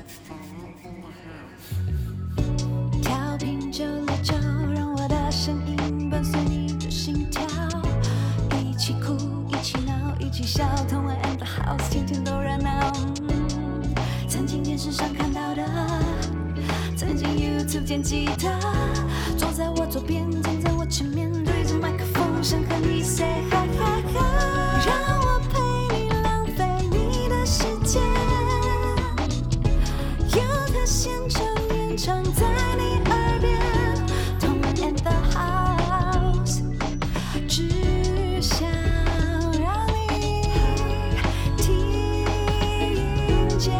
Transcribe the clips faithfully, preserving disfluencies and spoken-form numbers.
调频九六九，让我的声音伴随你的心跳，一起哭，一起闹，一起笑，同玩 and the house， 天天都热闹。嗯、曾经电视上看到的，曾经 YouTube 见吉他，坐在我左边，站在我前面，对着麦克风，想和你 say hi hi hi， 让我陪你浪费你的时间，有他现场演唱在你耳边，同玩 and the house， 只想让你听见。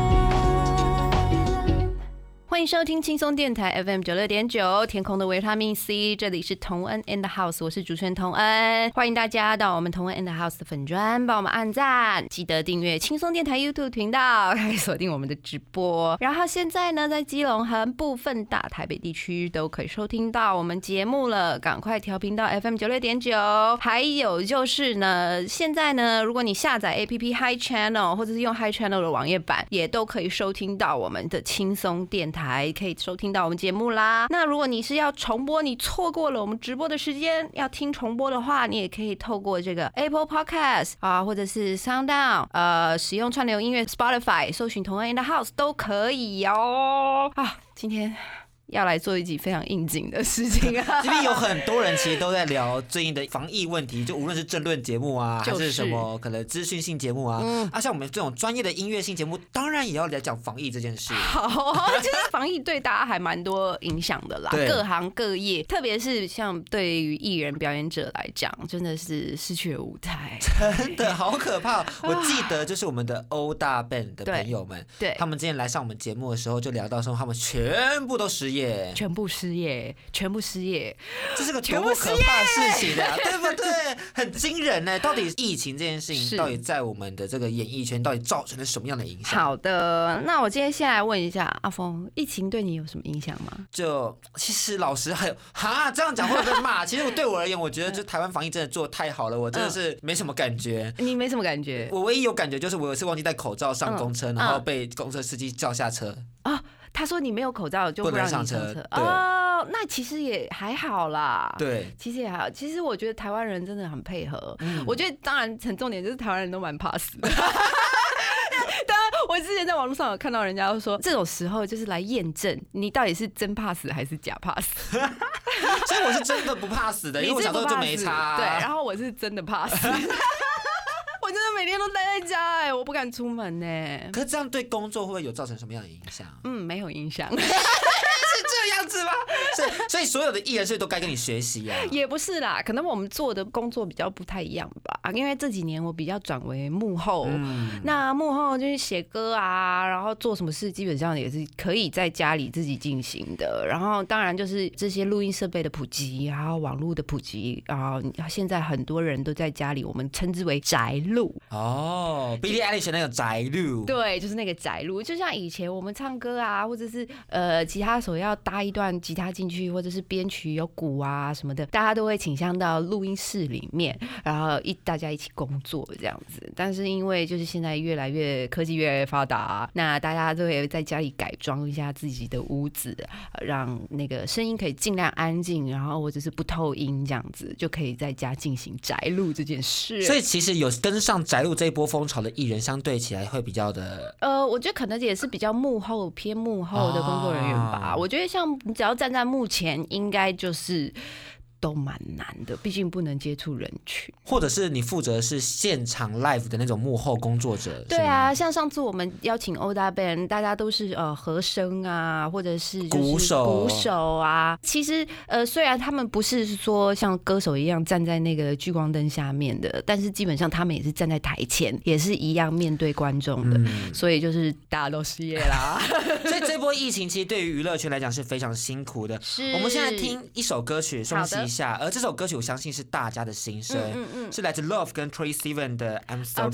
欢迎收听轻松电台 F M 九六点九，天空的维他命 C， 这里是同恩 and the house， 我是主持人同恩，欢迎大家到我们同恩 and the house 的粉专，帮我们按赞，记得订阅轻松电台 YouTube 频道，可以锁定我们的直播。然后现在呢，在基隆和部分大台北地区都可以收听到我们节目了，赶快调频到 F M 九六点九。还有就是呢，现在呢，如果你下载 A P P Hi Channel 或者是用 Hi Channel 的网页版，也都可以收听到我们的轻松电台。可以收听到我们节目啦。那如果你是要重播，你错过了我们直播的时间，要听重播的话，你也可以透过这个 Apple Podcast 啊，或者是 SoundOn， 呃，使用串流音乐 Spotify 搜寻同恩 in the house 都可以哦。啊，今天要来做一集非常应景的事情啊！ 这边有很多人其实都在聊最近的防疫问题，就无论是政论节目啊，就是、还是什么可能资讯性节目啊，嗯、啊，像我们这种专业的音乐性节目，当然也要来讲防疫这件事。 好，其实防疫对大家还蛮多影响的啦，各行各业，特别是像对于艺人表演者来讲，真的是失去了舞台， 真的好可怕。我记得就是我们的欧大 band 的朋友们，对，他们之前来上我们节目的时候，就聊到说他们全部都失业。 全部失业，全部失业， 这是个多么可怕的事情啊，对不对？很惊人呢。到底疫情这件事情，到底在我们的这个演艺圈，到底造成了什么样的影响？ 好的，那我今天先来问一下阿峰，疫情对你有什么影响吗？ 就其实老实还有哈，这样讲会不会被骂？其实我对我而言，我觉得就台湾防疫真的做得太好了，我真的是没什么感觉。 嗯、你没什么感觉？ 我唯一有感觉就是我有一次忘记戴口罩上公车，嗯、然后被公车司机叫下车。 啊、哦，他说你没有口罩就不让你上车。哦，那其实也还好啦。 对， 其实也还好。其实我觉得台湾人真的很配合。嗯、我觉得当然很重点就是台湾人都蛮怕死的。当然，我之前在网络上有看到人家说，这种时候就是来验证你到底是真怕死还是假怕死。 所以我是真的不怕死的，因为我小时候就没差、啊。 对，然后我是真的怕死。我真的每天都待在家哎、欸，我不敢出门呢、欸。 可是这样对工作会不会有造成什么样的影响？ 嗯，没有影响。 是这样子吗？所以，所以所有的艺人是都该跟你学习啊？ 也不是啦，可能我们做的工作比较不太一样吧。因为这几年我比较转为幕后，嗯、那幕后就是写歌啊，然后做什么事基本上也是可以在家里自己进行的。然后当然就是这些录音设备的普及，然后网络的普及，然后现在很多人都在家里，我们称之为宅录。 哦 ，Billie Eilish 那个宅录， 对，就是那个宅录，就像以前我们唱歌啊，或者是呃吉他手要搭一段吉他进去，或者是编曲有鼓啊什么的，大家都会倾向到录音室里面，然后一大家一起工作这样子。但是因为就是现在越来越科技越来越发达，那大家都会在家里改装一下自己的屋子，让那个声音可以尽量安静，然后或者是不透音这样子，就可以在家进行宅录这件事。 所以其实有跟上宅录这一波风潮的艺人，相对起来会比较的， 呃，我觉得可能也是比较幕后偏幕后的工作人员吧。哦、我觉得像你只要站在幕前，应该就是都蛮难的，毕竟不能接触人群。 或者是你负责是现场 live 的那种幕后工作者。 对啊，像上次我们邀请欧大 band， 大家都是呃和声啊，或者是鼓手鼓手啊。其实呃虽然他们不是说像歌手一样站在那个聚光灯下面的，但是基本上他们也是站在台前，也是一样面对观众的。嗯、所以就是大家都失业啦。 所以这波疫情其实对于娱乐圈来讲是非常辛苦的。 是， 我们现在听一首歌曲休息一下，而这首歌曲我相信是大家的心声，嗯嗯嗯，是来自 Love 跟 Troye Sivan 的 I'm So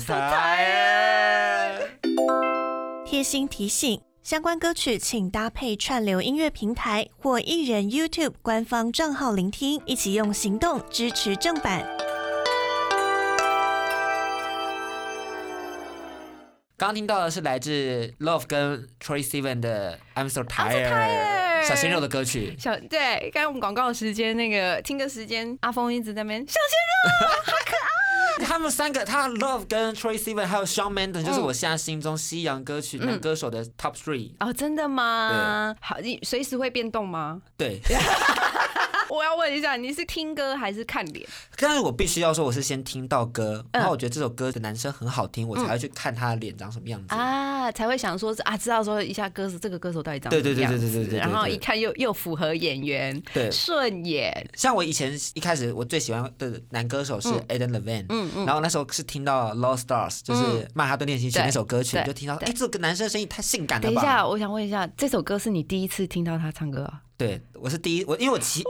Tired。 贴心提醒：相关歌曲请搭配串流音乐平台或艺人 YouTube 官方账号聆听，一起用行动支持正版。 刚刚听到的是来自 Love 跟 Troye Sivan 的 I'm So Tired 小鲜肉的歌曲。 小对，刚刚我们广告的时间，那个听歌时间，阿峰一直在那边小鲜肉，好可爱。 他们三个，他 Love 跟 Troye Sivan 还有 Shawn Mendes，、嗯、就是我现在心中西洋歌曲、嗯、男歌手的 Top Three。 哦，真的吗？好，你随时会变动吗？ 对。 我要问一下，你是听歌还是看脸？ 但是我必须要说，我是先听到歌，然后我觉得这首歌的男生很好听，我才会去看他的脸长什么样子、 嗯、啊，才会想说啊，知道说一下歌手这个歌手到底长什么样子，对对对对对对，然后一看又又符合眼缘，对，顺眼。像我以前一开始我最喜欢的男歌手是 Adam Levine， 嗯嗯，然后那时候是听到 Lost Stars， 就是曼哈顿练习曲那首歌曲，就听到哎、欸，这个男生的声音太性感了吧。 等一下，我想问一下，这首歌是你第一次听到他唱歌啊？ 对，我是第一，我因为我其。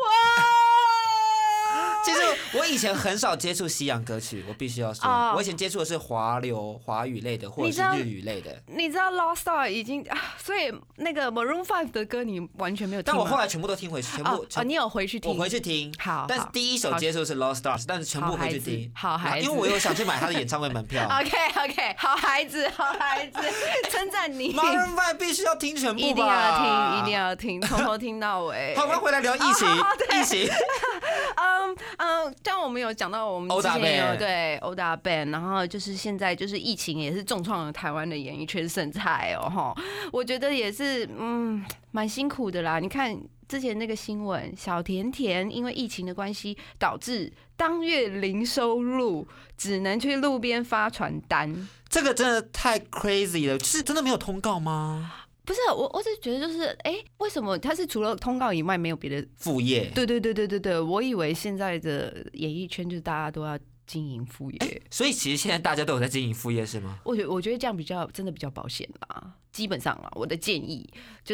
其实我以前很少接触西洋歌曲，我必须要说， oh. 我以前接触的是华流、华语类的，或者是日语类的。 你知道 Lost Star 已经啊，所以那个 Maroon Five 的歌你完全没有听吗？ 但我后来全部都听回去，全部。 哦， oh, 你有回去听？ 我回去听。 好。 但是第一首接触是 Lost Stars， 但是全部回去听。 好孩子。 因为我有想去买他的演唱会门票。 OK OK， 好孩子，好孩子，称赞你。 Maroon Five 必须要听全部吧？ 一定要听，一定要听，从头听到尾。 好，我们回来聊疫情，疫情。 嗯嗯，像我们有讲到我们之前有对欧大 band， 然后就是现在就是疫情也是重创了台湾的演艺圈生态哦哈，我觉得也是嗯蛮辛苦的啦。你看之前那个新闻，小甜甜因为疫情的关系，导致当月零收入，只能去路边发传单。 这个真的太 crazy 了，是真的没有通告吗？ 不是我，我只是觉得就是，哎、欸，为什么他是除了通告以外没有别的副业？ 对对对对对对，我以为现在的演艺圈就是大家都要经营副业、欸， 所以其实现在大家都有在经营副业是吗？ 我觉我觉得这样比较真的比较保险啦。基本上啊，我的建议就是，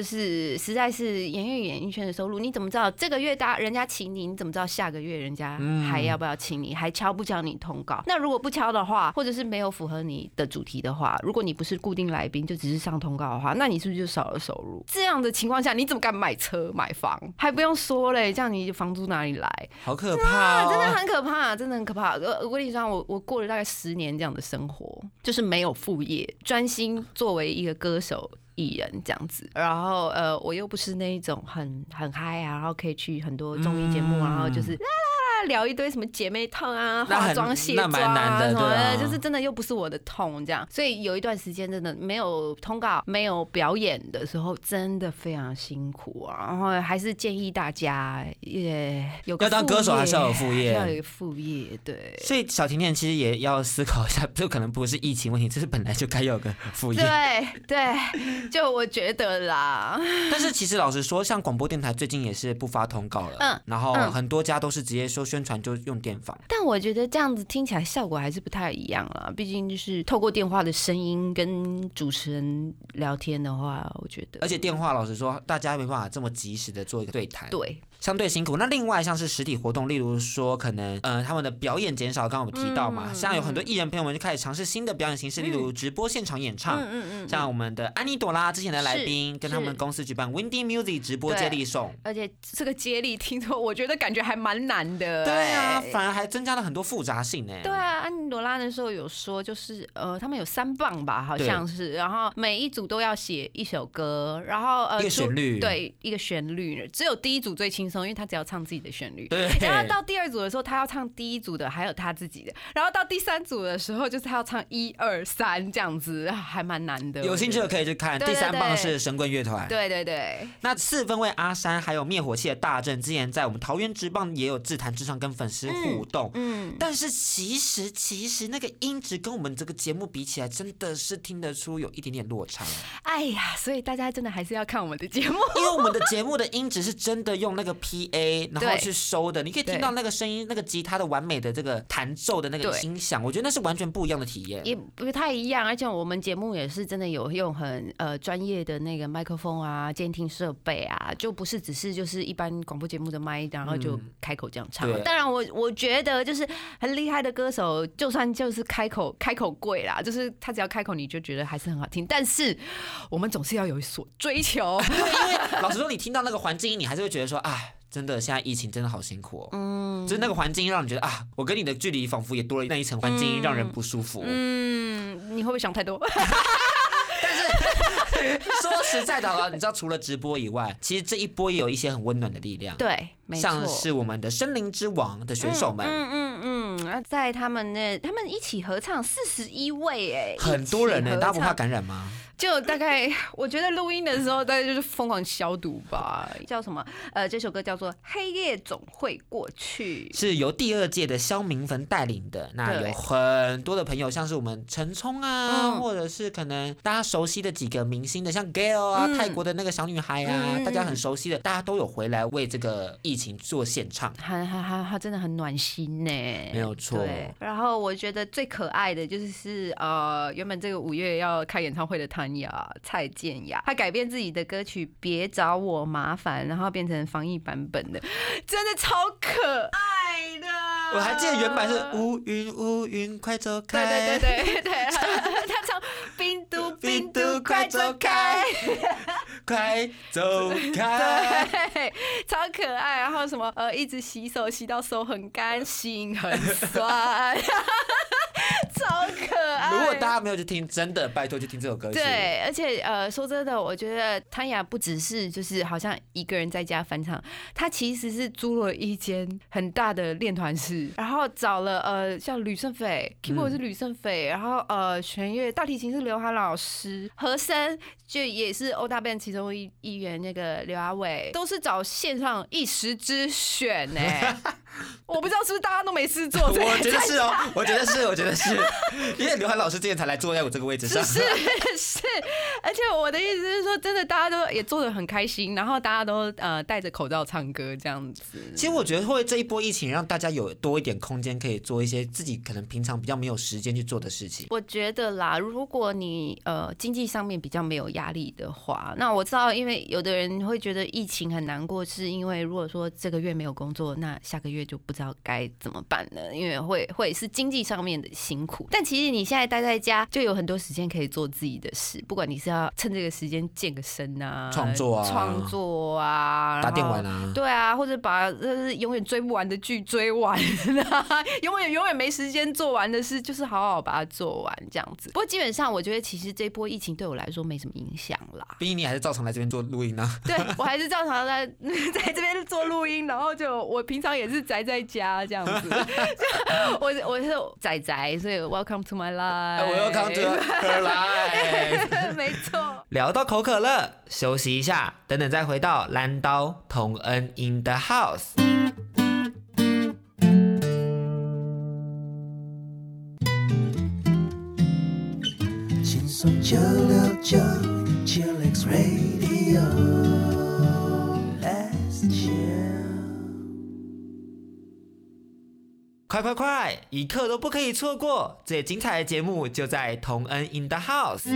实在是演艺演艺圈的收入，你怎么知道这个月大人家请你，你怎么知道下个月人家还要不要请你，还敲不敲你通告？那如果不敲的话，或者是没有符合你的主题的话，如果你不是固定来宾，就只是上通告的话，那你是不是就少了收入？这样的情况下，你怎么敢买车买房？还不用说嘞，这样你房租哪里来？ 好可怕、哦啊， 真的很可怕，真的很可怕。我跟你说，我我过了大概十年这样的生活，就是没有副业，专心作为一个歌手。艺人这样子，然后呃，我又不是那一种很很嗨啊，然后可以去很多综艺节目、嗯，然后就是啦啦啦聊一堆什么姐妹痛啊、化妆卸妆啊什么的、啊，就是真的又不是我的痛这样，所以有一段时间真的没有通告、没有表演的时候，真的非常辛苦啊。然后还是建议大家也有个要当歌手还是要有副业， 要有副业对。 所以小甜甜其实也要思考一下，这可能不是疫情问题，这是本来就该有个副业。 对对。就我觉得啦， 但是其实老实说，像广播电台最近也是不发通告了，嗯，然后很多家都是直接说宣传就用电访。 但我觉得这样子听起来效果还是不太一样啦，毕竟就是透过电话的声音跟主持人聊天的话，我觉得， 而且电话老实说，大家没办法这么及时的做一个对谈， 对。 相对辛苦。那另外像是实体活动，例如说可能呃他们的表演减少，刚刚我们提到嘛，嗯、像有很多艺人朋友们就开始尝试新的表演形式，嗯、例如直播现场演唱，嗯嗯嗯、像我们的安妮朵拉之前的来宾跟他们公司举办 Windy Music 直播接力送， 而且这个接力听说我觉得感觉还蛮难的， 对啊，反而还增加了很多复杂性呢。 对啊，安妮朵拉那时候有说就是呃他们有三棒吧，好像是，然后每一组都要写一首歌，然后呃一个旋律， 对，一个旋律，只有第一组最轻松，因为他只要唱自己的旋律， 对， 然后到第二组的时候，他要唱第一组的，还有他自己的，然后到第三组的时候，就是他要唱一二三这样子，还蛮难的。 有兴趣的可以去看。第三棒是神棍乐团， 对对对。 那四分卫阿山还有灭火器的大正，之前在我们桃园职棒也有自弹自唱跟粉丝互动，嗯，嗯但是其实其实那个音质跟我们这个节目比起来，真的是听得出有一点点落差。 哎呀，所以大家真的还是要看我们的节目， 因为我们的节目的音质是真的用那个 P A 然后去收的，你可以听到那个声音，那个吉他的完美的这个弹奏的那个音响，我觉得那是完全不一样的体验， 也不太一样。而且我们节目也是真的有用很呃专业的那个麦克风啊、监听设备啊，就不是只是就是一般广播节目的麦，然后就开口这样唱。嗯、当然我，我我觉得就是很厉害的歌手，就算就是开口开口贵啦，就是他只要开口，你就觉得还是很好听。但是我们总是要有所追求， 因为老实说，你听到那个环境音，你还是会觉得说，哎。真的，现在疫情真的好辛苦哦。嗯，就是那个环境让你觉得啊，我跟你的距离仿佛也多了那一层环境，让人不舒服。 嗯，你会不会想太多？ 说实在的，好了，你知道除了直播以外，其实这一波也有一些很温暖的力量。 对，没错， 像是我们的森林之王的选手们， 嗯嗯嗯嗯，在他们那，他们一起合唱四十一位，哎， 很多人呢、欸，大家不怕感染吗？ 就大概，我觉得录音的时候，大概就是疯狂消毒吧。叫什么？呃，这首歌叫做《黑夜总会过去》， 是由第二届的萧明焚带领的。那有很多的朋友，像是我们陈冲啊、嗯，或者是可能大家熟悉的几个明星的，像 Gail 啊、嗯，泰国的那个小女孩啊，嗯、大家很熟悉的，大家都有回来为这个疫情做献唱。 他他他他真的很暖心呢， 没有错。 然后我觉得最可爱的就是呃，原本这个五月要开演唱会的他。蔡健雅，他改编自己的歌曲《别找我麻烦》，然后变成防疫版本的，真的超可爱的。 我还记得原版是乌云乌云快走开， 对对对对对，他唱病毒病毒快走开， 快走开， 对，超可爱。然后什么呃，一直洗手洗到手很干，心很酸。超可爱！ 如果大家没有去听，真的拜托去听这首歌曲。 对，而且呃，说真的，我觉得汤雅不只是就是好像一个人在家翻唱，他其实是租了一间很大的练团室，然后找了呃像吕胜斐 ，keyboard 是吕胜斐，然后呃弦乐大提琴是刘涵老师，和声就也是欧大 band 其中一一员那个刘阿伟，都是找线上一时之选呢、欸。我不知道是不是大家都没事做， 我觉得是哦，我觉得是，我觉得是，因为刘涵老师之前才来坐在我这个位置上， 是是，而且我的意思是说，真的大家都也做得很开心，然后大家都呃戴着口罩唱歌这样子。 其实我觉得会这一波疫情让大家有多一点空间，可以做一些自己可能平常比较没有时间去做的事情。 我觉得啦，如果你呃经济上面比较没有压力的话，那我知道，因为有的人会觉得疫情很难过，是因为如果说这个月没有工作，那下个月就不知道该怎么办呢？因为会会是经济上面的辛苦。但其实你现在待在家，就有很多时间可以做自己的事，不管你是要趁这个时间健个身啊， 创作啊， 创作啊， 打电玩啊， 对啊，或者把呃永远追不完的剧追完啊，永远永远没时间做完的事，就是好好把它做完这样子。不过基本上，我觉得其实这波疫情对我来说没什么影响啦。 毕竟你还是照常来这边做录音啊。 对，我还是照常在在这边做录音，然后就我平常也是宅在家这样子。我我是宅宅，所以 Welcome to my life。Welcome to her life。 没错。 聊到口渴了，休息一下，等等再回到蓝刀同恩 in the house。轻松九六九 Chillax Radio。Let's chill。快快快！一刻都不可以错过，最精彩的节目就在同恩 in the house。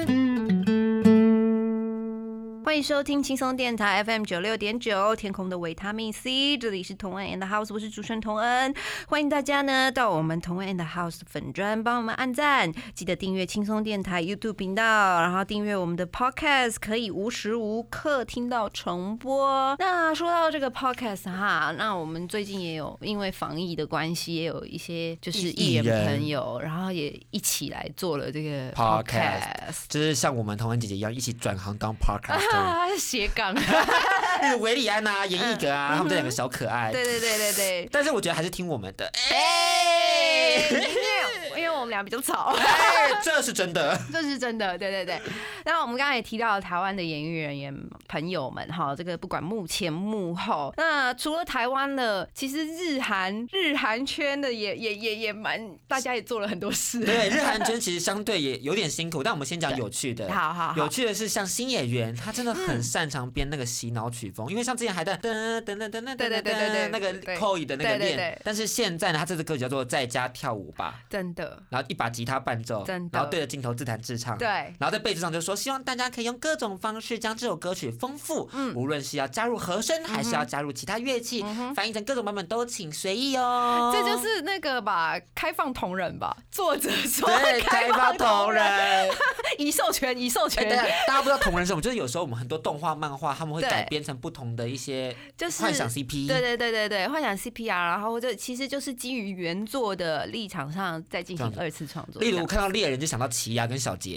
欢迎收听轻松电台 F M 九六点九，天空的维他命 C， 这里是同恩 and the house， 我是主持人同恩，欢迎大家呢到我们同恩 and the house 粉专帮我们按赞，记得订阅轻松电台 YouTube 频道，然后订阅我们的 Podcast， 可以无时无刻听到重播。那说到这个 Podcast 哈，那我们最近也有因为防疫的关系，也有一些就是艺人朋友，然后也一起来做了这个 Podcast， 就是像我们同恩姐姐一样，一起转行当 Podcast。 啊，斜杠， 那个维里安啊、严艺格啊，他们这两个小可爱。 对对对对对。 但是我觉得还是听我们的。 哎，因为因为我们俩比较吵。 哎，这是真的， 这是真的，对对对。然后我们刚才也提到了台湾的演艺人员朋友们哈，这个不管幕前幕后，那除了台湾的，其实日韩日韩圈的也也也也蛮，大家也做了很多事。 对，日韩圈其实相对也有点辛苦，但我们先讲有趣的。 好好好。 有趣的是，像新演员，他真的很擅长编那个洗脑曲风，嗯、因为像之前还在噔噔噔噔噔噔噔那个 Koi 的那个练，但是现在呢，他这支歌曲叫做《在家跳舞吧》， 真的， 然后一把吉他伴奏， 真的， 然后对着镜头自弹自唱， 对， 然后在贝斯上就说，希望大家可以用各种方式将这首歌曲丰富，嗯，无论是要加入和声，还是要加入其他乐器，嗯、翻译成各种版本都请随意哦。 这就是那个吧，开放同人吧，作者说对，开放同人， 已授权，已授权。 大家不知道同人是什么，就是有时候我们很多动画、漫画，他们会改编成不同的一些，就是幻想 C P， 对对对对对，幻想 C P 啊，然后这其实就是基于原作的立场上再进行二次创作。 例如看到猎人就想到奇亚跟小杰。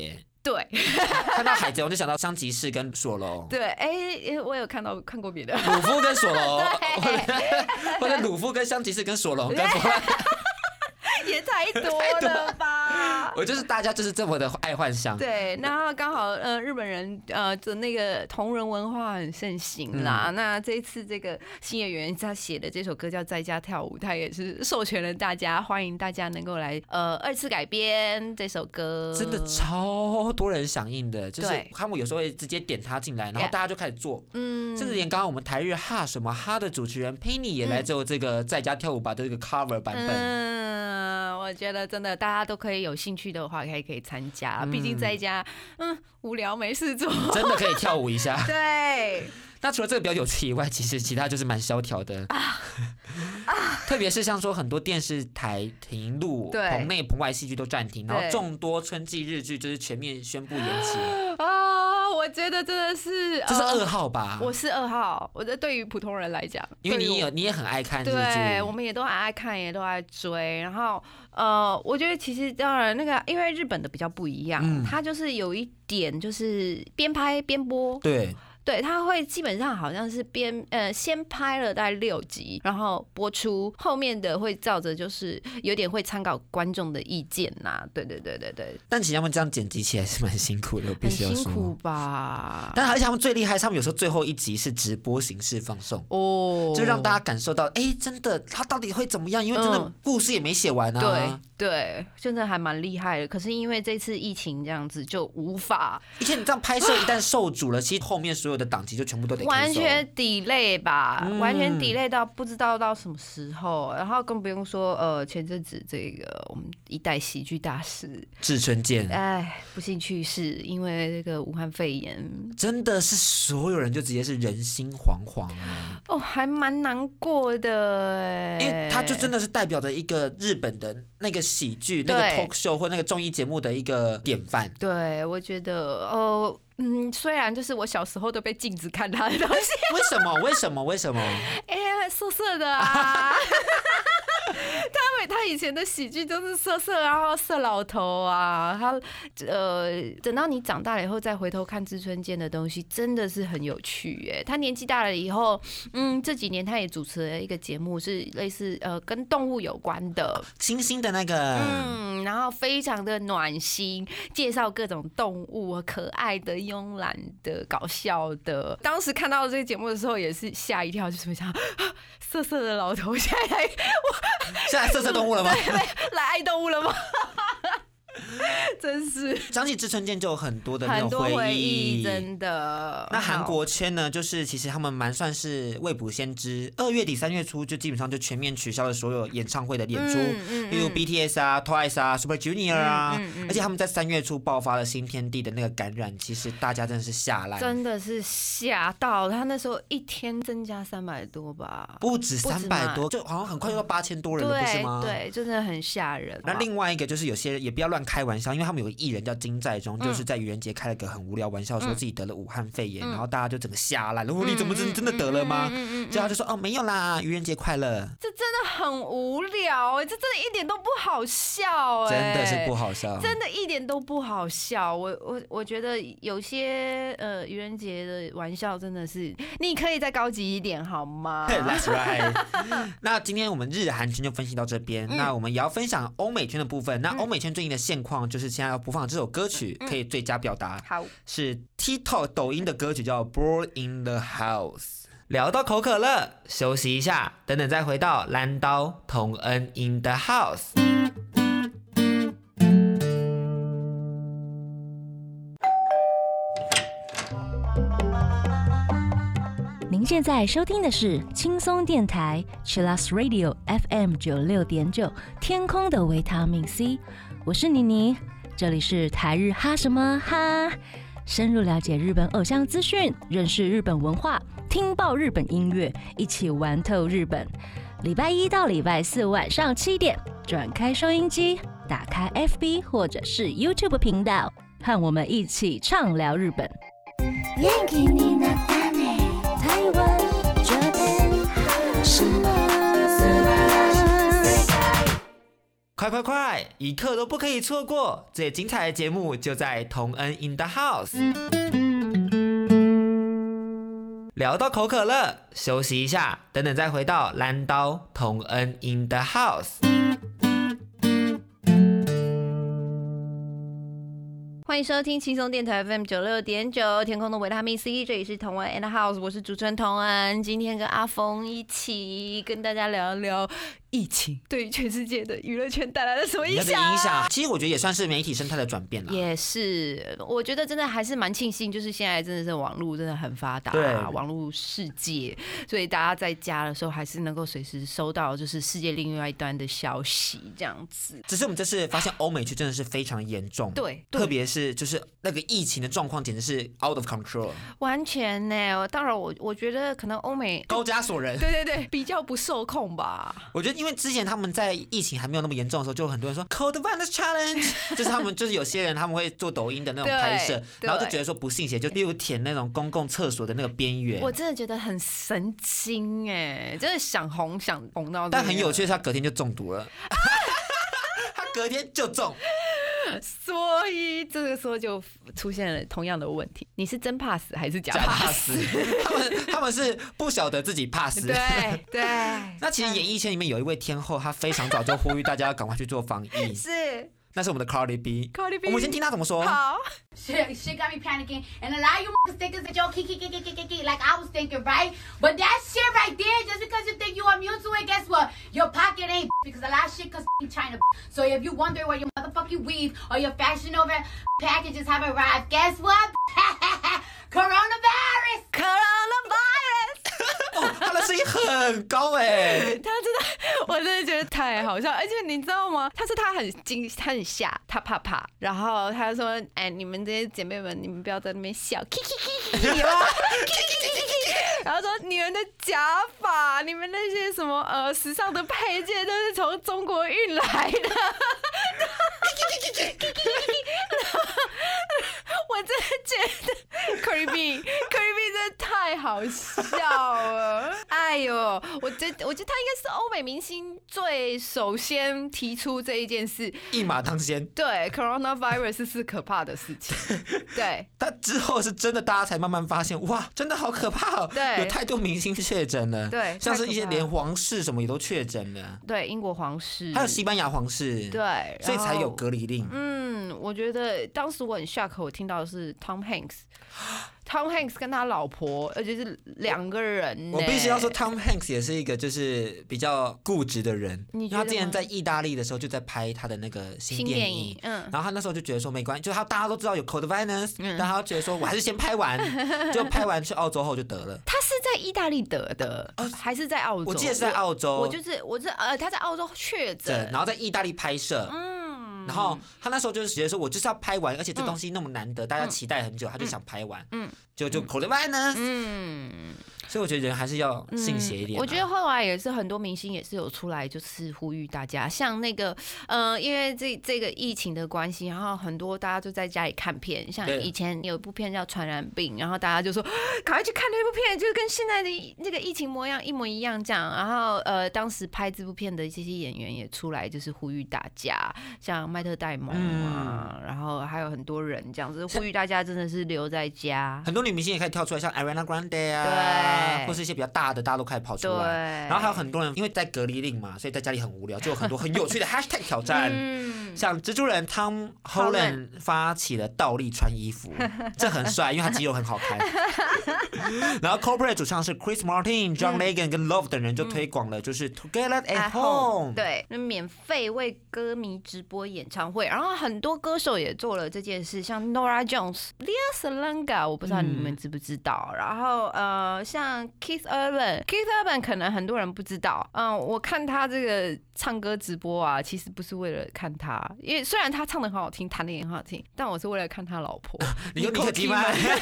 对， 看到海贼王就想到香吉士跟索隆。 对，哎、欸，我有看到看过别的， 鲁夫跟索隆，或者鲁夫跟香吉士跟索隆跟弗兰。 也太多了吧！ 我就是大家就是这么的爱幻想。 对，那刚好呃日本人呃的那个同人文化很盛行啦。嗯、那这一次这个新演员他写的这首歌叫《在家跳舞》，他也是授权了大家，欢迎大家能够来呃二次改编这首歌。 真的超多人响应的，就是他们有时候会直接点他进来，然后大家就开始做。嗯，甚至连刚刚我们台日哈什么哈的主持人 Penny 也来做这个在家跳舞吧的这个 cover 版本。 嗯，我觉得真的大家都可以有兴趣的话，可以可以参加。毕竟在家，嗯，无聊没事做， 真的可以跳舞一下。 对。 那除了这个比较有趣以外，其实其他就是蛮萧条的。啊啊、特别是像说很多电视台停录，棚内棚外戏剧都暂停，然后众多春季日剧就是全面宣布延期。 啊，我觉得真的是， 这是噩耗吧？ 我是噩耗。我觉得对于普通人来讲， 因为你有你也很爱看日剧， 对，我们也都很爱看，也都爱追。然后呃，我觉得其实当然那个，因为日本的比较不一样，嗯、它就是有一点就是边拍边播， 对。 对，他会基本上好像是边呃先拍了大概六集，然后播出，后面的会照着就是有点会参考观众的意见呐。对对对对对。 但其实他们这样剪辑起来是蛮辛苦的，我必须要说。 很辛苦吧？ 但而且他们最厉害，他们有时候最后一集是直播形式放送哦，就让大家感受到，哎，真的他到底会怎么样？因为真的故事也没写完啊。 嗯、对对，真的还蛮厉害的。可是因为这次疫情这样子，就无法。 而且你这样拍摄一旦受阻了，其实后面所有的档期就全部都得完全 delay 吧，嗯、完全 delay 到不知道到什么时候，然后更不用说呃前阵子这个我们一代喜剧大师志村健， 哎不幸去世，因为这个武汉肺炎， 真的是所有人就直接是人心惶惶啊！ 哦，还蛮难过的哎， 因为他就真的是代表着一个日本的那个喜剧、那个 talk show 或那个综艺节目的一个典范。 对，我觉得哦。嗯，虽然就是我小时候都被禁止看他的东西， 为什么？为什么？为什么？ 哎、欸，色色的啊！他们他以前的喜剧都是色色，然后色老头啊。他呃，等到你长大了以后再回头看志村健的东西，真的是很有趣哎。他年纪大了以后，嗯，这几年他也主持了一个节目，是类似呃跟动物有关的， 星星的那个， 嗯，然后非常的暖心，介绍各种动物，可爱的。慵懒的、搞笑的，当时看到这个节目的时候也是吓一跳，就是想，色色的老头现在来， 现在色色动物了吗？ 对，来爱动物了吗？真是讲起志村健就有很多的那种回忆， 真的。 那韩国圈呢，就是其实他们蛮算是未卜先知，二月底三月初就基本上就全面取消了所有演唱会的演出，嗯嗯嗯、例如 B T S 啊、Twice 啊、Super Junior 啊，嗯嗯嗯、而且他们在三月初爆发了新天地的那个感染，其实大家真的是吓烂， 真的是吓到。他那时候一天增加三百多吧， 不止三百多，就好像很快就到八千多人了，不是吗？ 对，真的很吓人。 那另外一个就是有些也不要乱开玩笑，因为他们有个艺人叫金在中，嗯、就是在愚人节开了个很无聊玩笑，说自己得了武汉肺炎，嗯、然后大家就整个吓烂了。哦，你怎么真真的得了吗？结果他就说哦没有啦，愚人节快乐。 这真的很无聊哎，这真的一点都不好笑哎， 真的是不好笑， 真的一点都不好笑。我我我觉得有些呃愚人节的玩笑真的是，你可以再高级一点好吗 ？That's right 。那今天我们日韩圈就分析到这边，嗯、那我们也要分享欧美圈的部分。那欧美圈最近的现况就是现在要播放这首歌曲，可以最佳表达， 好， 是 TikTok 抖音的歌曲叫《Born in the House》。聊到口渴了，休息一下，等等再回到蓝刀同恩 in the house。 您现在收听的是轻松电台 Chillus Radio F M 九六点九，天空的维他命 C， 我是妮妮，这里是台日哈什么哈，深入了解日本偶像资讯，认识日本文化，听爆日本音乐，一起玩透日本。礼拜一到礼拜四晚上七点，转开收音机，打开 F B 或者是 YouTube 频道，和我们一起畅聊日本。台湾这边什么？ 快快快，一刻都不可以错过！最精彩的节目就在同恩 in the house。聊到口渴了，休息一下，等等再回到蓝刀同恩 in the house。 欢迎收听轻松电台 F M 九六点九，天空的维他命 C， 这里是同恩 and house， 我是主持人同恩，今天跟阿峰一起跟大家聊一聊疫情对于全世界的娱乐圈带来了什么影响？ 影响，其实我觉得也算是媒体生态的转变了。 也是，我觉得真的还是蛮庆幸，就是现在真的是网络真的很发达，对，网络世界，所以大家在家的时候还是能够随时收到就是世界另外一端的消息，这样子。 只是我们这次发现欧美区真的是非常严重， 对， 特别是就是那个疫情的状况简直是 out of control， 完全呢。当然我我觉得可能欧美高加索人， 对对对，比较不受控吧。 我觉得因为之前他们在疫情还没有那么严重的时候，就有很多人说 Cold Virus Challenge， 就是他们就是有些人他们会做抖音的那种拍摄，然后就觉得说不信邪，就例如舔那种公共厕所的那个边缘。 我真的觉得很神经哎，真的想红想红到。 但很有趣的是，他隔天就中毒了，他隔天就中。 所以这个时候就出现了同样的问题，你是真怕死还是假怕死？ 他们他们是不晓得自己怕死。 对对。 那其实演艺圈里面有一位天后，她非常早就呼吁大家要赶快去做防疫。 是。 那是我们的 Cardi B。Cardi B， 我们先听她怎么说。 好。 Shit, shit got me panicking, and a lot of you thinkers that yo kiki kiki kiki kiki like I was thinking, right? But that shit right there, just because you think you immune to it, guess what? Your pocket ain't because a lot of shit comes from China. So if you wonder where your motherfucking weave or your fashion over packages have arrived, guess what? Coronavirus. Coronavirus. 哦，他的声音很高哎， 他真的，我真的觉得太好笑，而且你知道吗？他说他很惊，他很吓，他怕怕，然后他说：“哎，你们这些姐妹们，你们不要在那边笑，有吗？然后说你们的假发，你们那些什么呃时尚的配件都是从中国运来的。”我真的觉得 Cardi B，Cardi B 真的太好笑了。哎呦，我觉得我觉得他应该是欧美明星最首先提出这一件事， 一马当先。 对 ，coronavirus 是可怕的事情。对， 但之后是真的，大家才慢慢发现，哇，真的好可怕哦！ 对， 有太多明星确诊了， 对， 像是一些连皇室什么也都确诊了。 对，英国皇室， 还有西班牙皇室， 对， 所以才有隔离令。 嗯，我觉得当时我很 shock， 我听到的是 Tom Hanks。Tom Hanks 跟他老婆，而且是两个人。 我必须要说 ，Tom Hanks 也是一个就是比较固执的人。 你觉得？ 他之前在意大利的时候就在拍他的那个新电影， 嗯， 然后他那时候就觉得说没关系，就他大家都知道有 coronavirus，嗯，但他觉得说我还是先拍完，就拍完去澳洲后就得了。 他是在意大利得的，呃、还是在澳洲？ 我记得是在澳洲。 我就是我是呃，他在澳洲确诊， 然后在意大利拍摄，嗯，然后他那时候就是觉得说我就是要拍完，而且这东西那么难得，嗯，大家期待很久，他就想拍完，嗯。就就 coronavirus， 嗯，所以我觉得人还是要信邪一点，啊嗯。 我觉得后来也是很多明星也是有出来，就是呼吁大家，像那个呃，因为这这个疫情的关系，然后很多大家就在家里看片，像以前有一部片叫《传染病》，然后大家就说赶快去看那部片，就是跟现在的那个疫情模样一模一样这样。然后呃，当时拍这部片的这些演员也出来，就是呼吁大家，像麦特戴蒙啊，嗯，然后还有很多人这样子呼吁大家，真的是留在家。 很多女明星也开始跳出来，像 Ariana Grande 啊，或是一些比较大的，大家都开始跑出来。然后还有很多人因为在隔离令嘛，所以在家里很无聊，就有很多很有趣的 hashtag 挑战。嗯，像蜘蛛人 Tom Holland 发起了倒立穿衣服，这很帅，因为他肌肉很好看。然后 Coldplay 主唱是 Chris Martin、John Legend 跟 Love 等人就推广了，就是 Together at Home， 对，免费为歌迷直播演唱会。然后很多歌手也做了这件事，像 Norah Jones、Lea Salonga， 我不知道你们知不知道。嗯，然后呃，像 Keith Urban，Keith Urban 可能很多人不知道。嗯，我看他这个唱歌直播啊，其实不是为了看他，因为虽然他唱得很好听，弹得也很好听，但我是为了看他老婆。 你有你可基吗？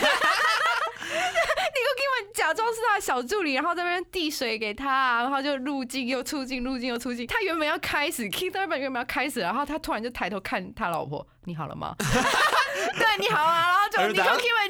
假装是他的小助理，然后在那边递水给他，然后就入镜又出镜，入镜又出镜。他原本要开始 ，Keith Urban 原本要开始，然后他突然就抬头看他老婆，你好了吗？对，你好啊，然后就 Nicole Kidman 就、哦、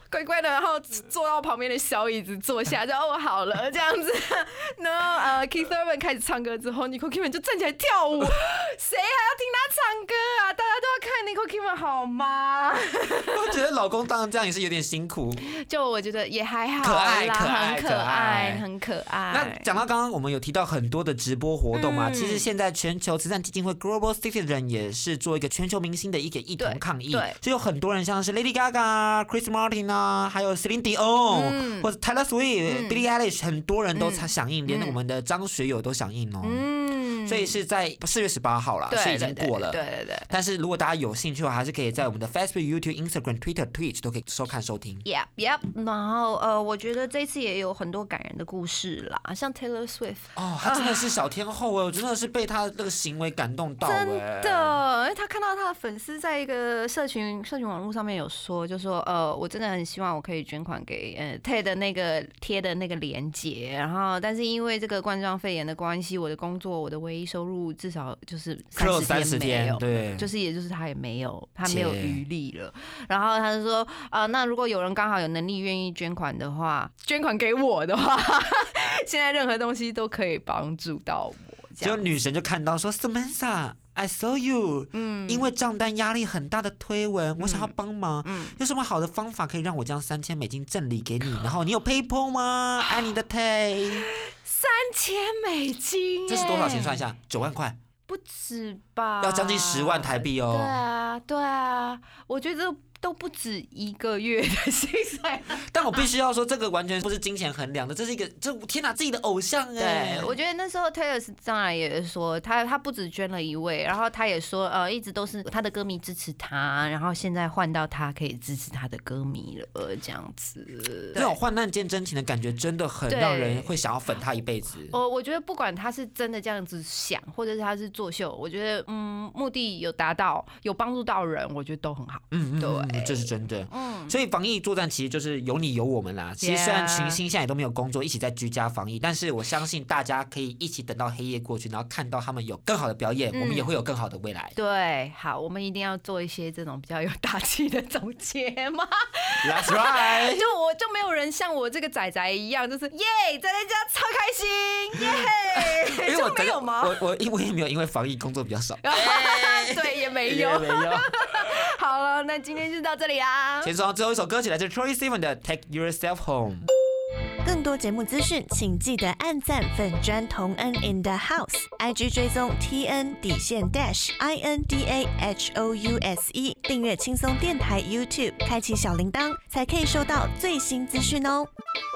乖乖的，然后坐到旁边的小椅子坐下，就哦好了这样子。然后呃 Keith Urban 开始唱歌之后 ，Nicole Kidman 就站起来跳舞，谁还要听他唱歌啊？大家都要看 Nicole Kidman 好吗？ 我觉得老公当然这样也是有点辛苦。 就我觉得也还好啦， 可爱可爱很可爱，很可爱。 那讲到刚刚我们有提到很多的直播活动嘛， 嗯、 其实现在全球慈善基金会 Global Citizen 也是做一个全球明星的一个一同抗议， 对， 所以有很多人像是 Lady Gaga、Chris Martin 啊，还有 Celine Dion、嗯、或者 Taylor Swift、Billie、嗯、Eilish， 很多人都响应，嗯、连我们的张学友都响应哦。嗯，所以是在四月十八号啦，是已经过了。 对对 对, 对。 但是如果大家有兴趣的话，还是可以在我们的 Facebook、YouTube、Instagram、Twitter、Twitch 都可以收看收听。 Yep Yep。然后呃，我觉得这次也有很多感人的故事啦，像 Taylor Swift。 哦，他真的是小天后哎，我真的是被他这个行为感动到哎。 真的，因为他看到他的粉丝在一个社群社群网络上面有说，就说呃，我真的很希望我可以捐款给呃 Ted 的那个贴的那个连结，然后但是因为这个冠状肺炎的关系，我的工作我的唯一收入至少就是三十天没有， 对， 就是也就是他也没有他没有余力了。然后他就说啊、呃，那如果有人刚好有能力愿意捐款的话，捐款给我的话，现在任何东西都可以帮助到我。 结果女神就看到说 Samantha。I saw you， 嗯，因为账单压力很大的推文，我想要帮忙，嗯，有什么好的方法可以让我将三千美金赠礼给你？然后你有 PayPal 吗？爱你的 Tay， 三千美金， 这是多少钱？算一下，九万块， 不止吧？ 要将近十万台币哦。 对啊，对啊，我觉得。都不止一个月的薪水， 但我必须要说，这个完全不是金钱衡量的，这是一个，这天哪，自己的偶像哎！ 对，我觉得那时候 Taylor 当然也说，他他不止捐了一位，然后他也说，呃，一直都是他的歌迷支持他，然后现在换到他可以支持他的歌迷了，这样子。 这种患难见真情的感觉，真的很让人会想要粉他一辈子。 我我觉得不管他是真的这样子想，或者是他是作秀，我觉得嗯，目的有达到，有帮助到人，我觉得都很好。 嗯嗯， 对。 这是真的，嗯，所以防疫作战其实就是有你有我们啦。其实虽然群星现在也都没有工作，一起在居家防疫，但是我相信大家可以一起等到黑夜过去，然后看到他们有更好的表演，嗯、我们也会有更好的未来。 对，好，我们一定要做一些这种比较有大气的总结嘛。 That's right 就我就没有人像我这个仔仔一样，就是耶，宅在家超开心，耶， 因为我就没有吗？ 我我我也没有，因为防疫工作比较少。 对，也没有， 也没有。 好了，那今天就到这里啦。 先说最后一首歌曲，来自 Troye Sivan 的 Take Yourself Home。 更多节目资讯，请记得按赞粉专同恩 in the house，I G 追踪 T N 底线 dash I N D A H O U S E， 订阅轻松电台 YouTube， 开启小铃铛，才可以收到最新资讯哦。